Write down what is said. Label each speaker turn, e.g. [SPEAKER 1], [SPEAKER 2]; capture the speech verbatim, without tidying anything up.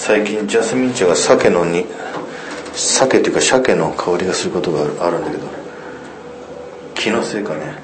[SPEAKER 1] 最近ジャスミン茶が鮭のに鮭っていうか鮭の香りがすることがあるんだけど、気のせいかね。